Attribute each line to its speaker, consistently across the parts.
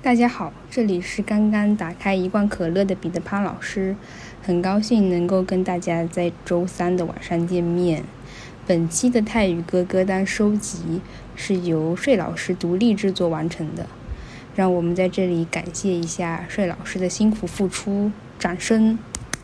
Speaker 1: 大家好，这里是刚刚打开一罐可乐的彼得潘老师，很高兴能够跟大家在周三的晚上见面。本期的泰语歌歌单收集是由睡老师独立制作完成的，让我们在这里感谢一下睡老师的辛苦付出，掌声。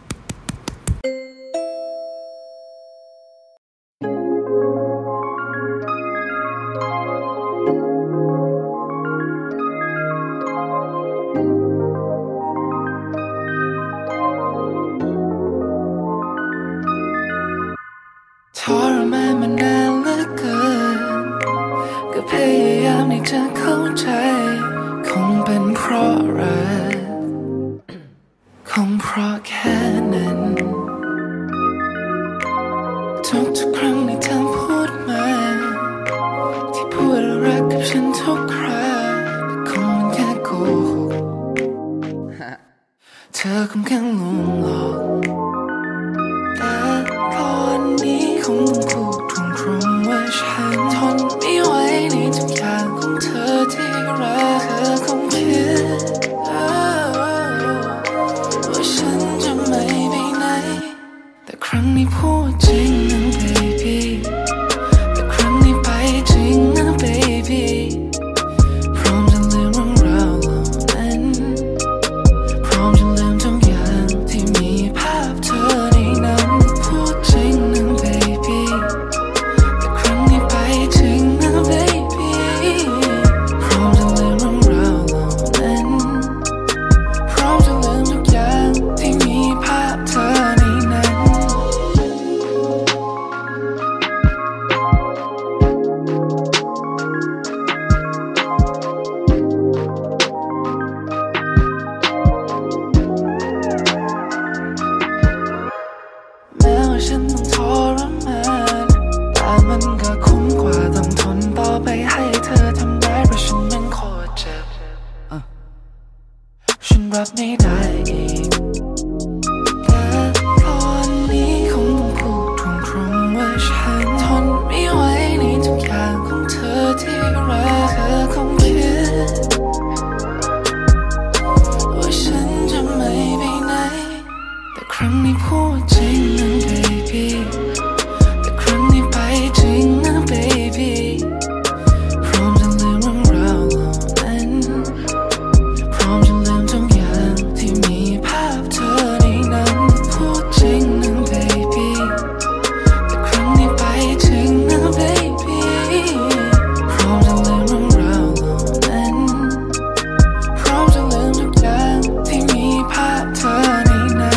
Speaker 2: ทรมานมานานเหลือเกินก็พยายามที่จะเข้าใจคงเป็นเพราะรักคงเพราะแค่นั้นทุกครั้งที่เธอพูดมาที่พูดรักกับฉันทุกครั้งแต่คงมันแค่โกหกเธอคงแค่ลวงหลอกแต่ก่อนนี้คงต้องพูดตรงๆว่าฉันทนไม่ไหวในทุกอย่างของเธอที่รักเธอคงคิดว่าฉันจะไม่ไปไหนแต่ครั้งนี้พูดจริงนะ baby แต่ครั้งนี้ไปจริงนะ baby พร้อมจะลืมเรื่องราวเหล่านั้นพร้อมจะลืมทุกอย่างที่มีภาพเธอในนั้นพูดจริงนะ baby แต่ครั้งนี้ไปจริงนะ baby พร้อมจะลืมเรื่องราวเหล่านั้นพร้อมจะลืมทุกอย่างที่มีภาพเธอในนั้นแม้ว่าฉันต้องทรมานแต่มันก็คุ้มกว่าต้องทนต่อไปให้เธอทำร้ายเพราะฉันมันโคตรเจ็บฉันรับไม่ได้อีกแต่ตอนนี้คงต้องพูดตรงๆว่าฉันทนไม่ไหวในทุกอย่างของเธอที่รักเธอคงคิดว่าฉันจะไม่ไปไหนแต่ครั้งนี้พูดจริงนะ baby แต่ครั้งนี้ไปจริงนะ baby พร้อมจะลืมเรื่องราวเหล่านั้นพร้อมจะลืมทุกอย่างที่มีภาพเธอในนั้นพูดจริงนะ baby แต่ครั้งนี้ไปจริงนะ baby พร้อมจะลืมเรื่องราวเหล่านั้นพร้อมจะลืมทุกอย่างที่มีภาพเธอในนั้น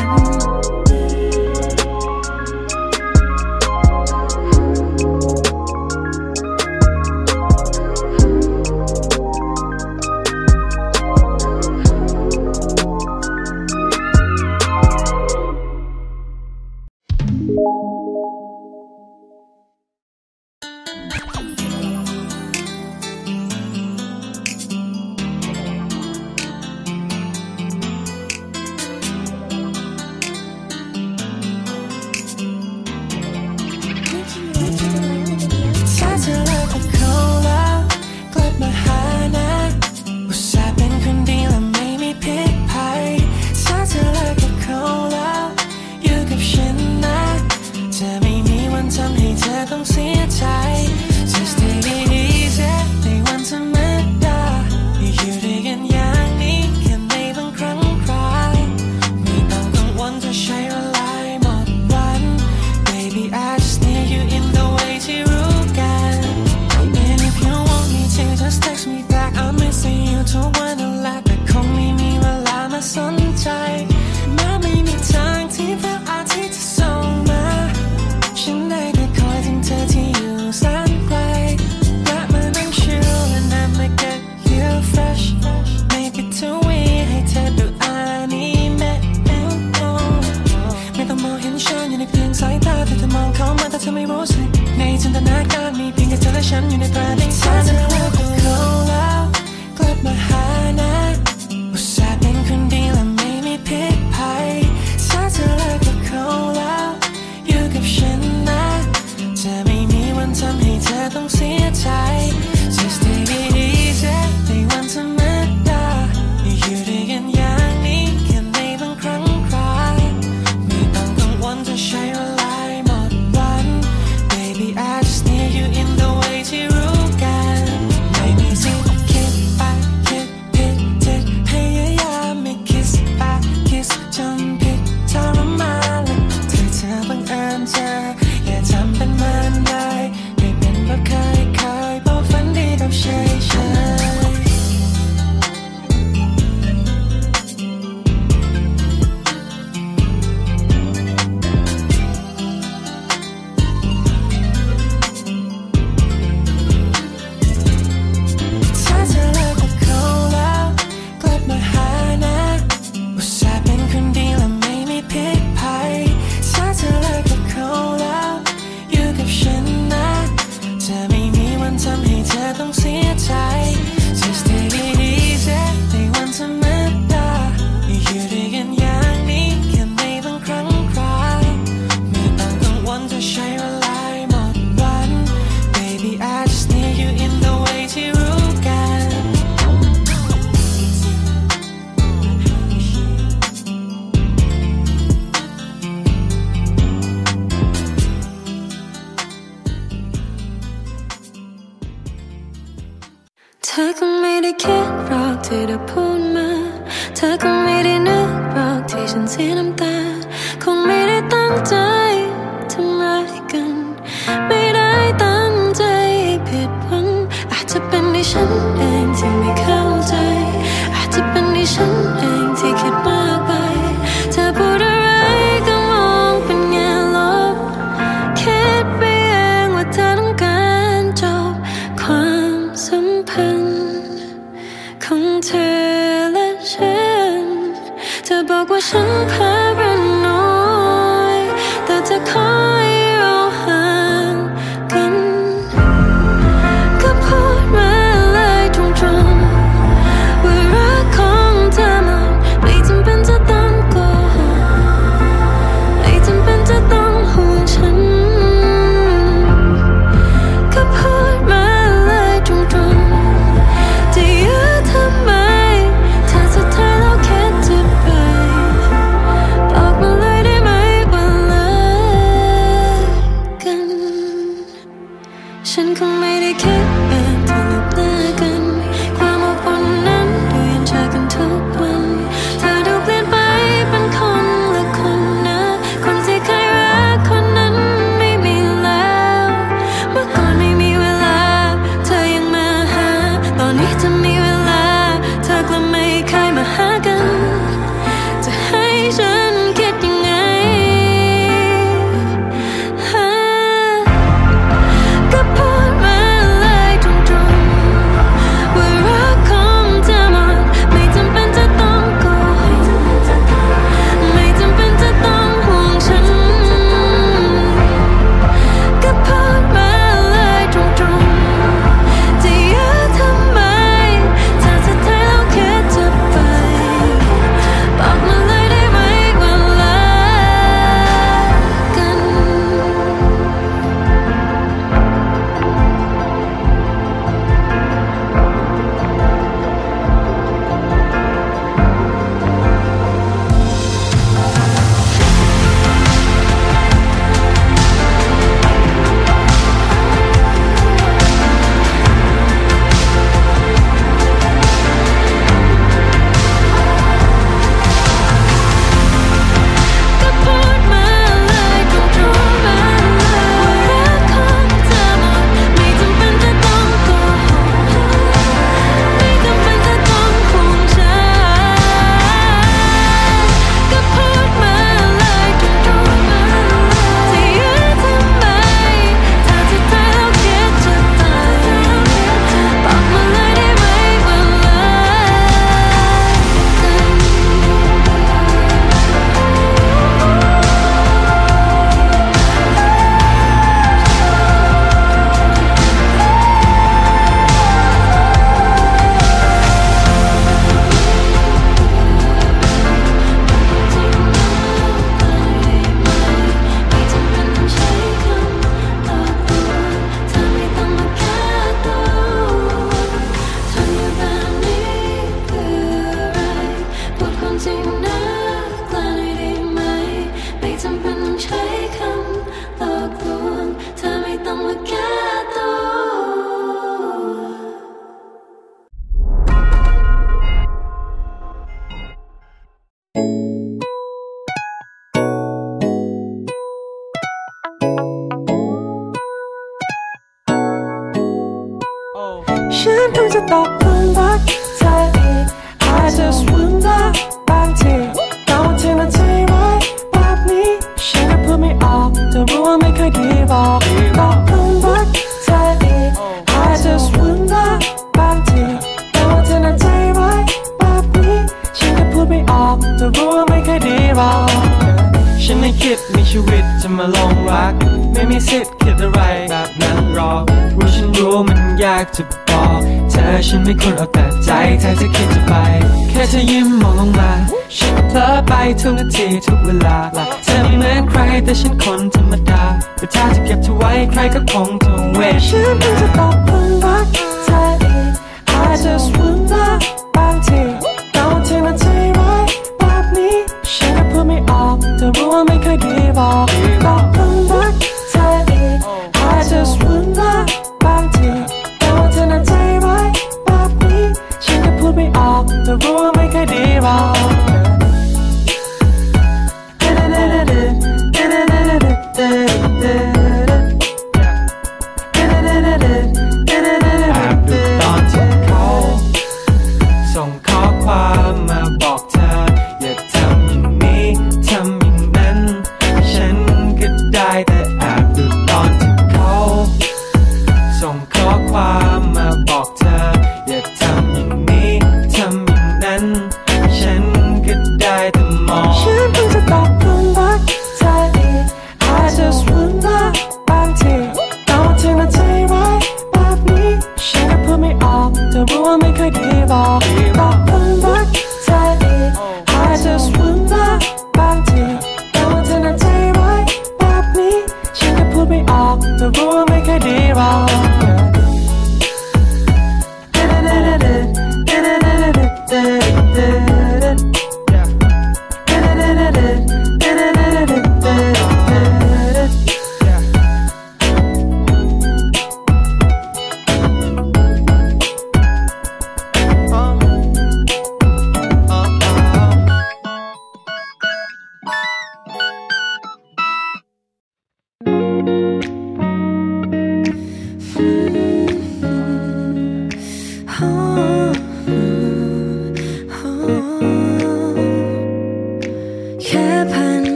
Speaker 2: ถ้าเธอเลิกกับเขาแล้วกลับมาหานะอุตส่าห์เป็นคนดีและไม่มีพิษภัยถ้าเธอเลิกกับเขาแล้วอยู่กับฉันนะจะไม่มีวันทำให้เธอต้องเสียใจ Just take it easy ในวันธรรมดาอยู่ด้วยกันอย่างนี้แค่ในบางครั้งคราวไม่ต้องกังวลจะใช้เวลาหมดวัน Baby I just need you in the way ที่รู้กัน And if you want me to just text me back I'm missing you ทุกวันนั่นแหละแต่คงไม่มีเวลามาสนใจแม้ไม่มีทางที่พระอาทิตย์จะส่องมาฉันได้แต่คอยถึงเธอที่อยู่แสนไกลและมานั่งชิล and I'ma get you fresh Make it too weird ให้เธอดูอนิเมะไม่ต้องมองเห็นฉันอยู่ในเพียงสายตาแต่เธอมองเข้ามาแต่เธอไม่รู้สึกในจินตนาการมีเพียงแค่เธอและฉันอยู่ในประเด็นถ้าเธอเลิกกับเขาแล้วกลับมาหานะอุตส่าห์เป็นคนดีและไม่มีพิษภัยถ้าเธอเลิกกับเขาแล้วอยู่กับฉันนะจะไม่มีวันทำให้เธอต้องเสียใจ Just take it easy ในวันธรรมดาธอคงไม่ได้คิดหรอกที่เธอพูดมาเธอคงไม่ได้นึกหรอกที่ฉันเสียน้ำตาคงไม่ได้ตั้งใจทำร้ายกันไม่ได้ตั้งใจให้ผิดหวังอาจจะเป็นที่ฉันเองที่ไม่เข้าใจอาจจะเป็นที่ฉันเองที่คิดมากไปเธอพูดอะไรก็มองเป็นแง่ลบคิดไปเองว่าเธอต้องการจบความสัมพันธ์ของเธอและฉันเธอบอกว่าฉันพาราโนอยแต่เธอขอให้เราห่างกันก็พูดมาเลยตรงๆว่ารักของเธอมันไม่จำเป็นจะต้องโกหกไม่จำเป็นจะต้องห่วงฉันก็พูดมาเลยตรงๆจะยื้อทำไมถ้าสุดท้ายเราแค่จะไปบอกมาเลยได้ไหมว่าเลิกกันฉันคงไม่ได้คิดเองที่เราเลิกกันความอบอุ่นนั้นดูยังเจอกันทุกวันเธอดูเปลี่ยนไปเป็นคนละคนนะคนที่เคยรักคนนั้นไม่มีแล้วเมื่อก่อนไม่มีเวลาเธอยังมาหาตอนนี้จะมีเวลาเธอกลับไม่เคยมาหากันจะให้ฉันคิดยังไงก็พูดมาเลยตรงๆว่ารักของเธอมันไม่จำเป็นจะต้องโกหกไม่จำเป็นจะต้องห่วงฉันก็พูดมาเลยตรงๆจะยื้อทำไมถ้าสุดท้ายเราแค่จะไปบอกมาเลยได้ไหมว่าเลิกกัน ก็พูดมาเลยตรงๆว่ารักของเธอมันไม่จำเป็นจะต้องโกหกไม่จำเป็นจะต้องห่วงฉันก็พูดมาเลยตรงๆจะยื้อทำไมถ้าสุดท้ายเราแค่จะตายบอกมาเลยได้ไหมว่าเลิกกัน ไม่จำเป็นต้องใช้คำหลอกลวงเธอไม่ต้องมาแก้ตัวทำอยู่แบบนี้เพื่ออะไรพูดความจริงนะกล้าหน่อยได้ไหมไม่จำเป็นต้องใช้คำหลอกลวงเธอไม่ต้องมาแก้ตัว ฉันเพิ่งจะตกหลุมรักเธออีก I just wonder บางทีเราเธอน่ะใจร้ายแบบนี้ฉันก็พูดไม่ออกแต่รู้ว่าไม่เคยดีบอกตกหลุมรักเธออีก I just wonder บางทีเราเธอน่ะใจร้ายแบบนี้ฉันก็พูดไม่ออกแต่รู้ว่าไม่เคยดีบอกฉันไม่คิดมีชีวิตจะมาลงรักไม่มีสิทธิ์คิดอะไรแบบนั้นหรอกเพราะฉันรู้มันยากจะบอกเธอฉันไม่ควรเอาแต่ใจเธอจะคิดจะไปแค่เธอยิ้มมองลงมาฉันก็เพลอไปทุกนาทีทุกเวลาเธอไม่เหมือนใครแต่ฉันคนธรรมดาแต่ถ้าจะเก็บเธอไว้ใครก็คงต้องเวทฉันเพิ่งจะตกหลุมรักเธออีก I just wonder บางทีเราเธอน่ะใจร้ายแบบนี้ฉันก็พูดไม่ออกแต่รู้ว่าไม่เคยดีบอกตกหลุมรักเธออีก I just wonder บางทีเราเธอน่ะใจร้ายแบบ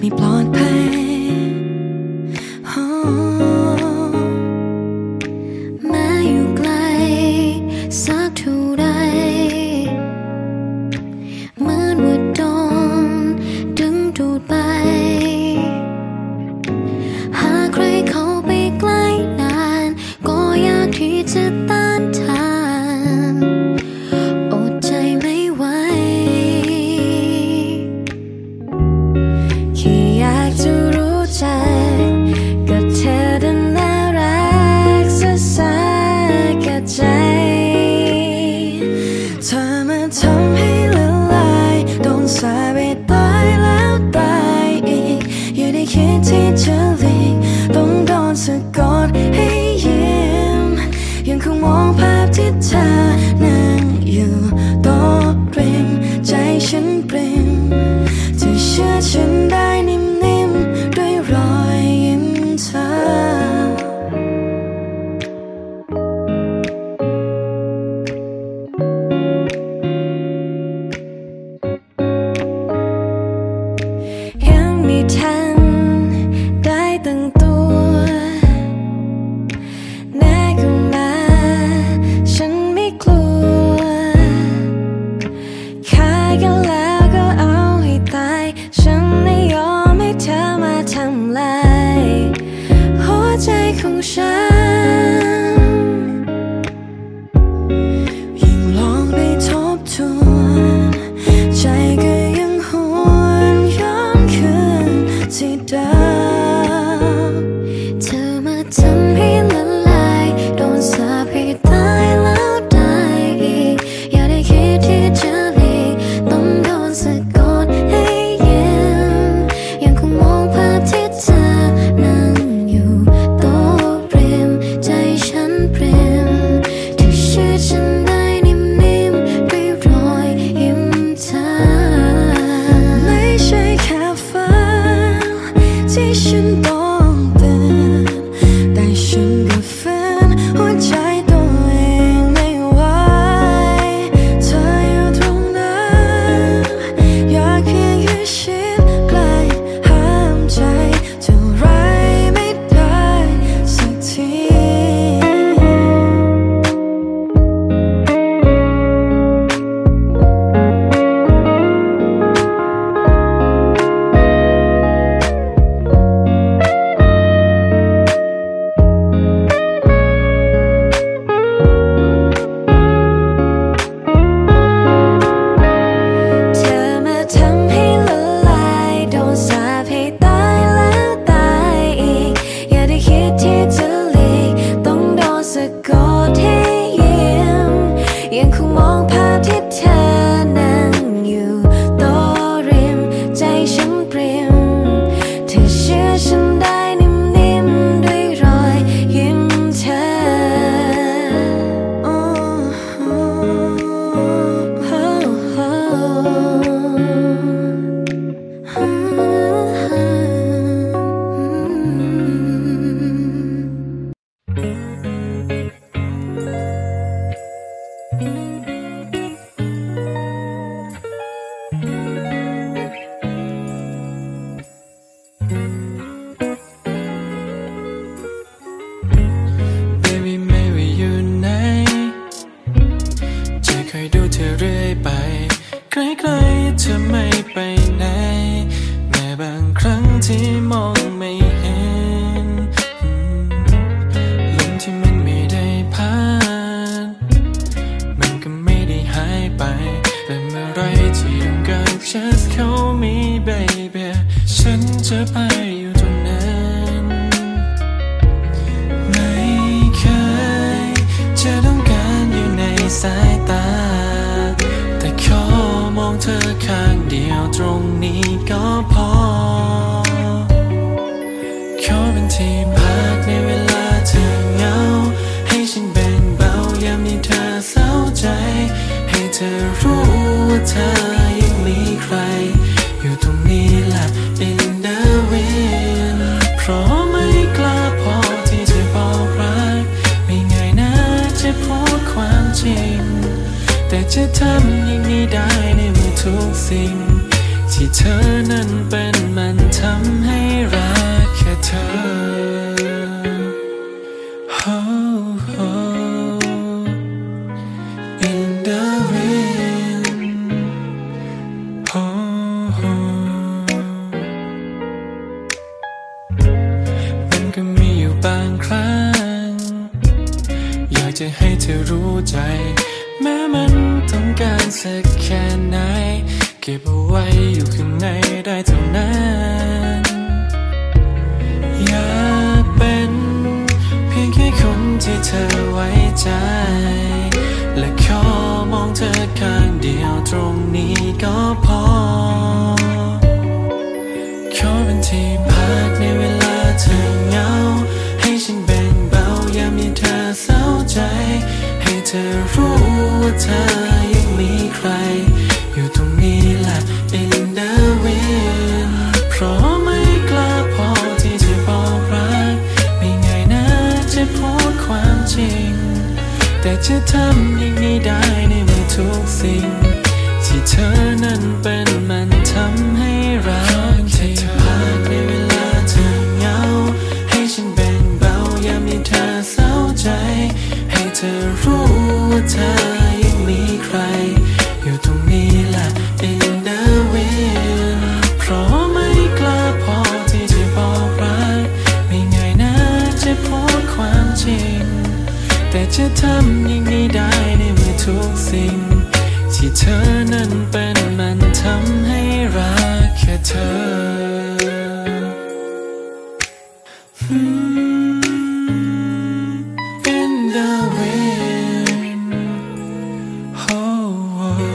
Speaker 2: ปลอดภัยแม้อยู่ไกลสักเท่าใดเหมือนว่าโดนดึงดูดไปหากใครเข้าไปใกล้นานก็อยากที่จะต้านทานอดใจไม่ไหวแค่อยากจะรู้จักกับเธอดังน่ารักสักแค่ใจเธอมาทำให้ละลายโดนสาปไปตายแล้วตายอีกอย่าได้คิดที่จะหลีกต้องโดนสะกดให้ยิ้มยังคงมองภาพที่เธอนั่งอยู่โต๊ะริมใจฉันปริ่มเธอเชื่อฉันได้นิ่มๆด้วยรอยยิ้มเธอยังไม่ทันได้ตั้งตัวแน่ขึ้นมาฉันไม่กลัวฆ่ากันแล้วก็เอาให้ตายฉันไม่ยอมให้เธอมาทำลายหัวใจของฉันยิ่งลองไปทบทวนใจก็ยังหวนย้อนคืนที่เดิมเธอมาทำให้ละลายโดนสาปให้ตายแล้วตายอีกอย่าได้คิดที่จะหลีกต้องโดนสะกดให้ยิ้มยังคงมองภาพที่เธอนั่งอยู่โต๊ะริมใจฉันปริ่มเธอเชื่อฉันได้นิ่มๆด้วยรอยยิ้มเธอไม่ใช่แค่ฝันที่ฉันต้องตื่นแต่ฉันก็ฝืนหัวใจตัวเองไม่ไหวเธออยู่ตรงนั้นอยากเพียงแค่ชิดใกล้ห้ามใจเท่าไรไม่ได้สักทีเธอมาทำให้ละลายโดนสาปให้ตายแล้วตายอีกอย่าได้คิดที่จะหลีกต้องโดนสะกดให้ยิ้มยังคงมองภาพที่เธอนั่งอยู่โต๊ะริมใจฉันปริ่มเธอเชื่อฉันได้นิ่มๆด้วยรอยยิ้มเธอBaby ไม่ว่าอยู่ไหนจะคอยดูเธอเรื่อยไปใกล้ๆเธอไม่ไปไหนแม้บางครั้งที่มองไม่เห็นลมที่มันไม่ได้พัดมันก็ไม่ได้หายไปแต่เมื่อไรที่ต้องการ just call me baby ฉันจะไปอยู่ตรงนั้นไม่เคยจะต้องการอยู่ในสายตาแต่ขอมองเธอข้างเดียวตรงนี้ก็พอขอเป็นที่พักในเวลาเธอเหงาให้ฉันแบ่งเบายามที่เธอเศร้าใจให้เธอรู้ว่าเธอยังมีใครอยู่ตรงนี้แหละ in the wind เพราะไม่กล้าพอที่จะบอกรักไม่ง่ายนะจะพูดความจริงแต่จะทำอย่างนี้ได้ในเมื่อทุกสิ่งที่เธอนั้นเป็นมันทำบางครั้งอยากจะให้เธอรู้ใจแม้มันต้องการสักแค่ไหนเก็บเอาไว้อยู่ข้างในได้เท่านั้นอยากเป็นเพียงแค่คนที่เธอไว้ใจและขอมองเธอข้างเดียวตรงนี้ก็พอขอเป็นที่พักในเวลาเธอเหงาให้ฉันแบ่งเบายามที่เธอเศร้าใจให้เธอรู้ว่าเธอยังมีใครอยู่ตรงนี้แหละ in the wind เพราะไม่กล้าพอที่จะบอกรักไม่ง่ายนะจะพูดความจริงแต่จะทำอย่างนี้ได้ในเมื่อทุกสิ่งที่เธอนั้นเป็นมันทำให้รักที่เธอพักในเวลาเธอเหงาให้ฉันแบ่งเบายามที่เธอเศร้าใจให้เธอรู้ว่าเธอยังมีใครอยู่ตรงนี้แหละ in the wind เพราะไม่กล้าพอที่จะบอกรักไม่ง่ายนะจะพูดความจริงแต่จะทำอย่างนี้ได้ในเมื่อทุกสิ่งที่เธอนั้นเป็นมันทำให้รักแค่เธอIn the wind oh, oh.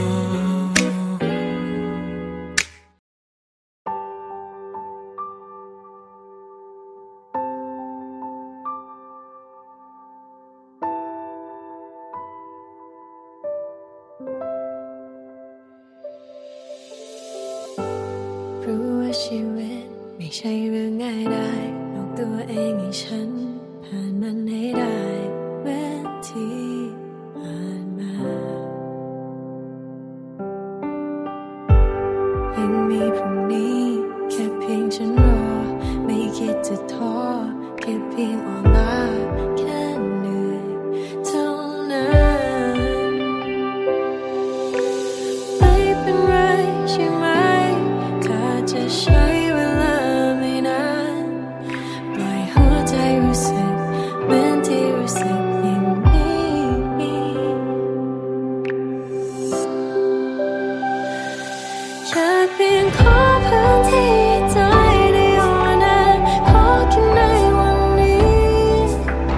Speaker 3: รู้ว่าชีวิตไม่ใช่เรื่องง่ายได้บอกตัวเองให้ฉันผ่านมันให้ได้เหมือนที่ผ่านมายังมีพรุ่งนี้แค่เพียงฉันรอไม่คิดจะท้อแค่เพียงอ่อนล้าแค่เหนื่อยเท่านั้นไม่เป็นไรใช่ไหมถ้าจะใช้เวลาไม่นานปล่อยหัวใจรู้สึกเหมือนที่รู้สึกอย่างนี้อยากเพียงขอพื้นที่ใจในวันนั้นขอแค่ในวันนี้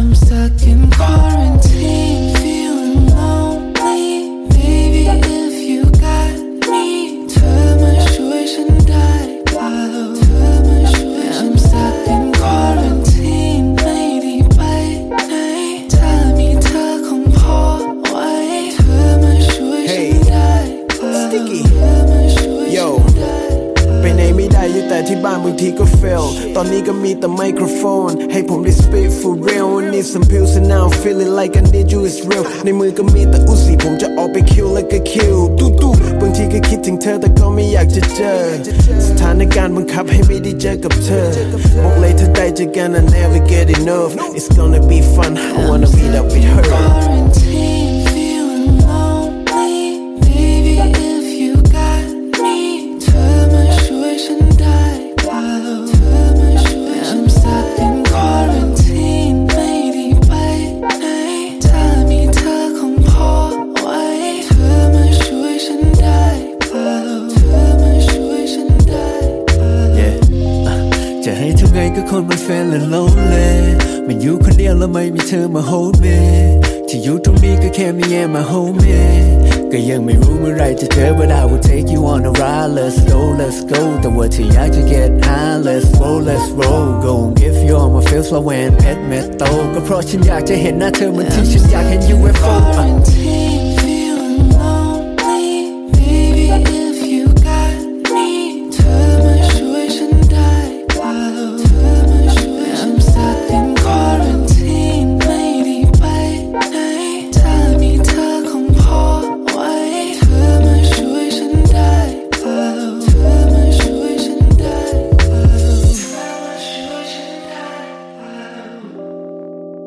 Speaker 2: I'm stuck in quarantine, feeling lonely. Baby, if you got me, เธอมาช่วยฉันได้เปล่า I'm stuck in quarantine ไม่ได้ไปไหนถ้ามีเธอคงพอไว้เธอมาช่วยฉันได้เปล่า
Speaker 4: Sticky
Speaker 2: เธอมาช่วยฉันได้
Speaker 4: ไปไหนไม่ได้อยู่แต่ที่บ้านบางทีก็ fail ตอนนี้ก็มีแต่ไมโครโฟนให้ผมได้ spit for real I need some pills and now I'm feeling like I need you it's real ในมือก็มีแต่อุซี่ผมจะออกไป kill like a kill ตู้บางทีก็คิดถึงเธอแต่ก็ไม่อยากจะเจอสถานการณ์บังคับให้ไม่ได้เจอกับเธอบอกเลยถ้าได้เจอกัน I never get enough It's gonna be fun I wanna meet up with her
Speaker 2: Quarantine, feeling lonely. Baby, if you got me, เธอมาช่วยฉันได้เปล่า I'm stuck in quarantine ไม่ได้ไปไหนถ้ามีเธอคงพอไว้เธอมาช่วยฉันได้เปล่าเธอมาช่วยฉันได้เปล่า
Speaker 5: Yeah จะให้ทำไงก็คนมัน feeling lonely มันอยู่คนเดียวแล้วไม่มีเธอมา hold me ที่อยู่ตรงนี้ก็แค่มี and my homie ก็ยังไม่รู้เมื่อไรจะเจอ but I will take you on a ride let's go แต่ว่าที่อยากจะ get high let's roll go and give you all my feels ว่าแหวนเพชรเม็ดโตก็เพราะฉันอยากจะเห็นหน้าเธอเหมือนที่ฉันอยากเห็น UFO
Speaker 2: Quarantine, feeling lonely. Baby, if you got me, เธอมาช่วยฉันได้เปล่า I'm stuck in quarantine ไม่ได้ไปไหนถ้ามีเธอคงพอไว้เธอมาช่วยฉันได้เปล่าเธอมาช่วยฉันได้เปล่าเธอมาช่วยฉันได้เปล่า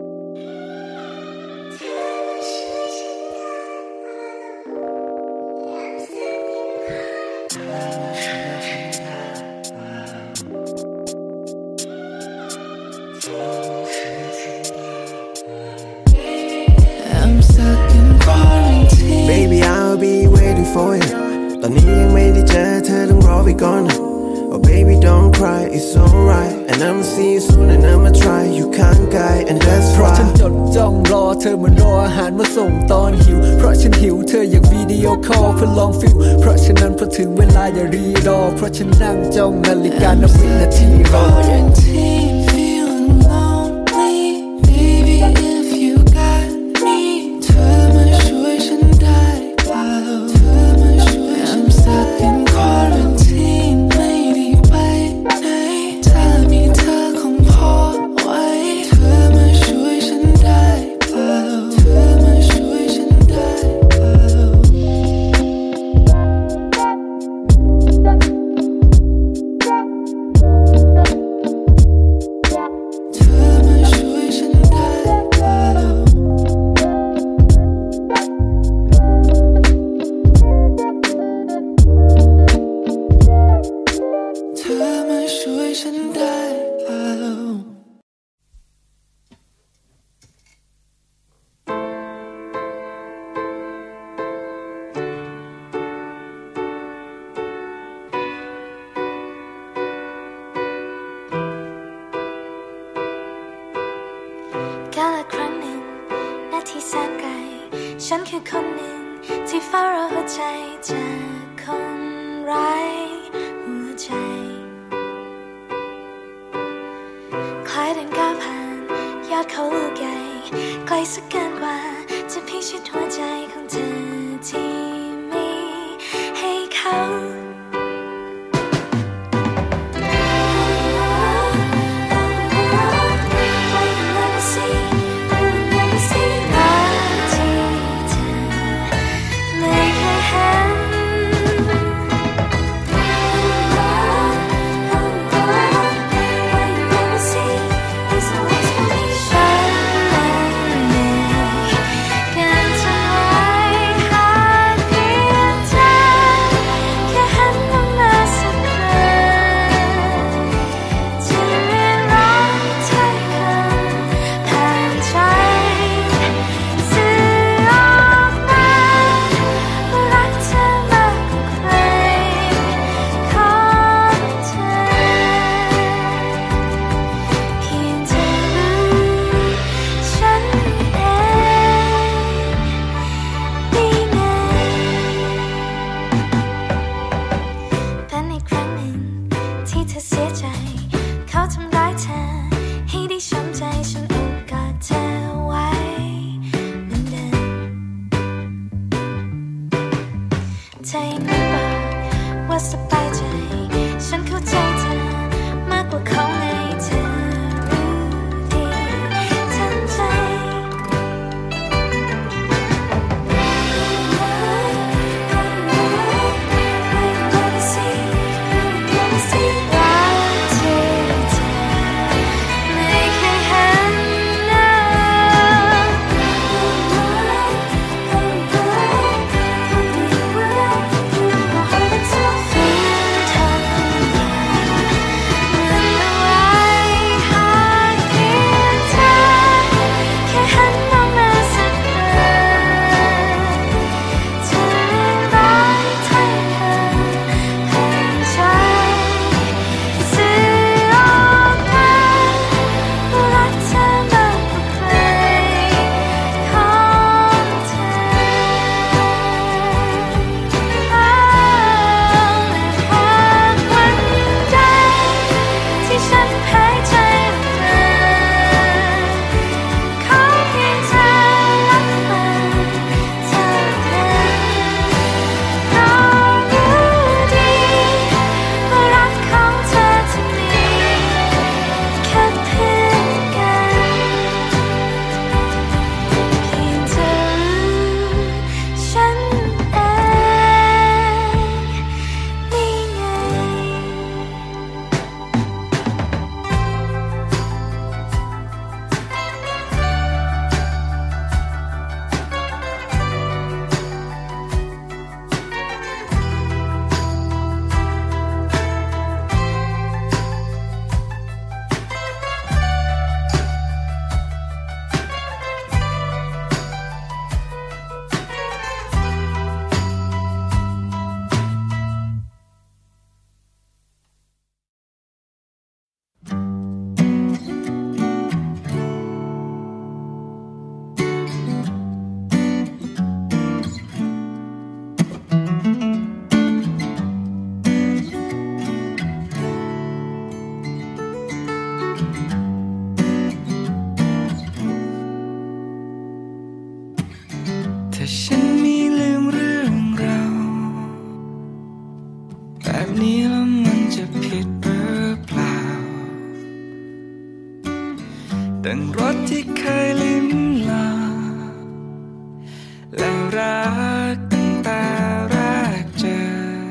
Speaker 2: I'm stuck in quarantine
Speaker 4: Baby I'll be waiting for you ตอนนี้ยังไม่ได้เจอเธอต้องรอไปก่อน Oh baby don't cry it's alright And I'ma see you soon and I'ma try You can't guide and that's
Speaker 5: เพราะ
Speaker 4: why
Speaker 5: ฉันจดจ้องรอเธอเหมือนรออาหารมาส่งตอนหิวเพราะฉันหิวเธออยากวิดีโอคอลเพื่อลองฟิลเพราะฉะนั้นพอถึงเวลาอย่ารีรอเพราะฉันนั่งจ้องนาฬิกานับวินาทีรอ
Speaker 2: Quarantine, feeling lonely. Baby, if you got me, เธอมาช่วยฉันได้เปล่า I'm stuck in quarantine ไม่ได้ไปไหนถ้ามีเธอคงพอไว้เธอมาช่วยฉันได้เปล่าเธอมาช่วยฉันได้เปล่า เธอมาช่วยฉันได้เปล่าเธอมาช่วยฉันได้เปล่า
Speaker 3: กาลครั้งหนึ่งนาทีแสนไกลฉันคือคนหนึ่งที่เฝ้ารอหัวใจจากคนไร้หัวใจคล้ายเดินก้าวผ่านยอดเขาลูกใหญ่ไกลสักเกินกว่าจะพิชิตหัวใจของเธอที่มีให้เขา แค่หัน
Speaker 2: ดังรสที่เคยลิ้มลองและรักตั้งแต่แรกเจอ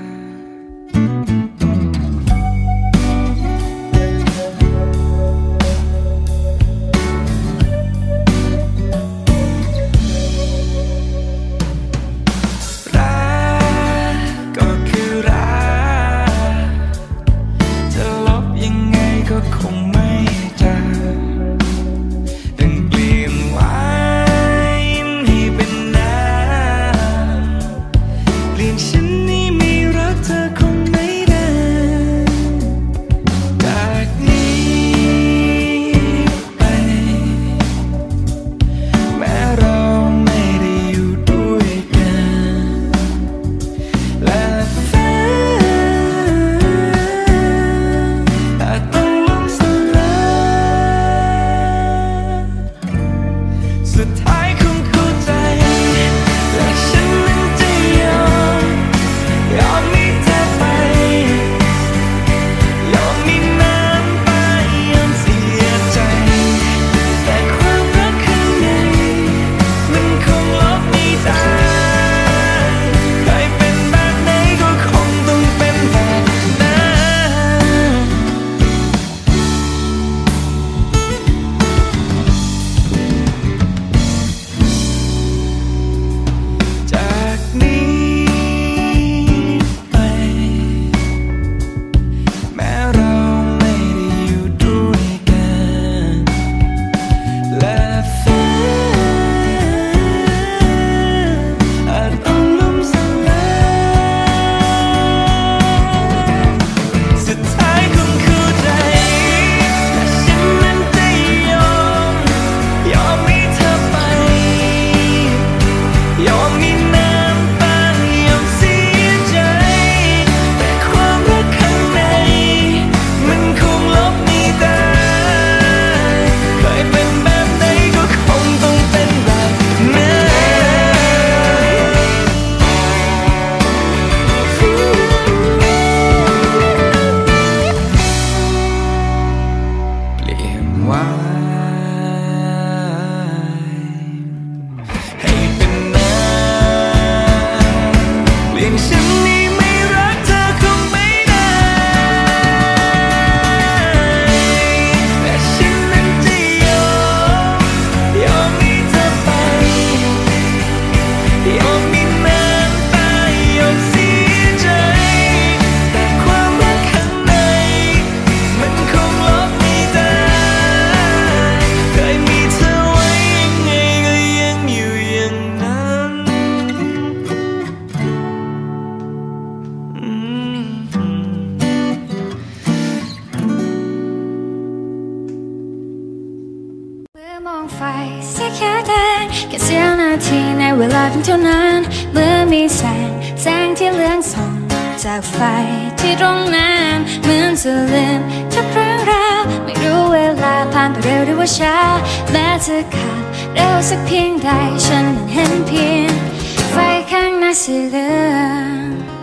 Speaker 3: เวลาเพียงเท่านั้นเมื่อมีแสงที่เลืองส่องจากไฟที่ตรงนั้นเหมือนจะลืมทุกเรื่องราวไม่รู้เวลาผ่านไปเร็วหรือว่าช้าแม้จะขาดเร็วสักเพียงใดฉันมันเห็นเพียงไฟข้างหน้าสีเหลือง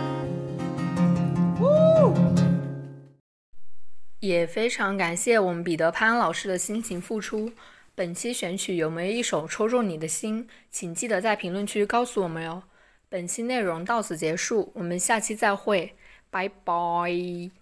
Speaker 1: 也非常感谢我们彼得潘老师的辛勤付出。本期选曲有没有一首抽中你的心？请记得在评论区告诉我们哟。本期内容到此结束，我们下期再会，拜拜。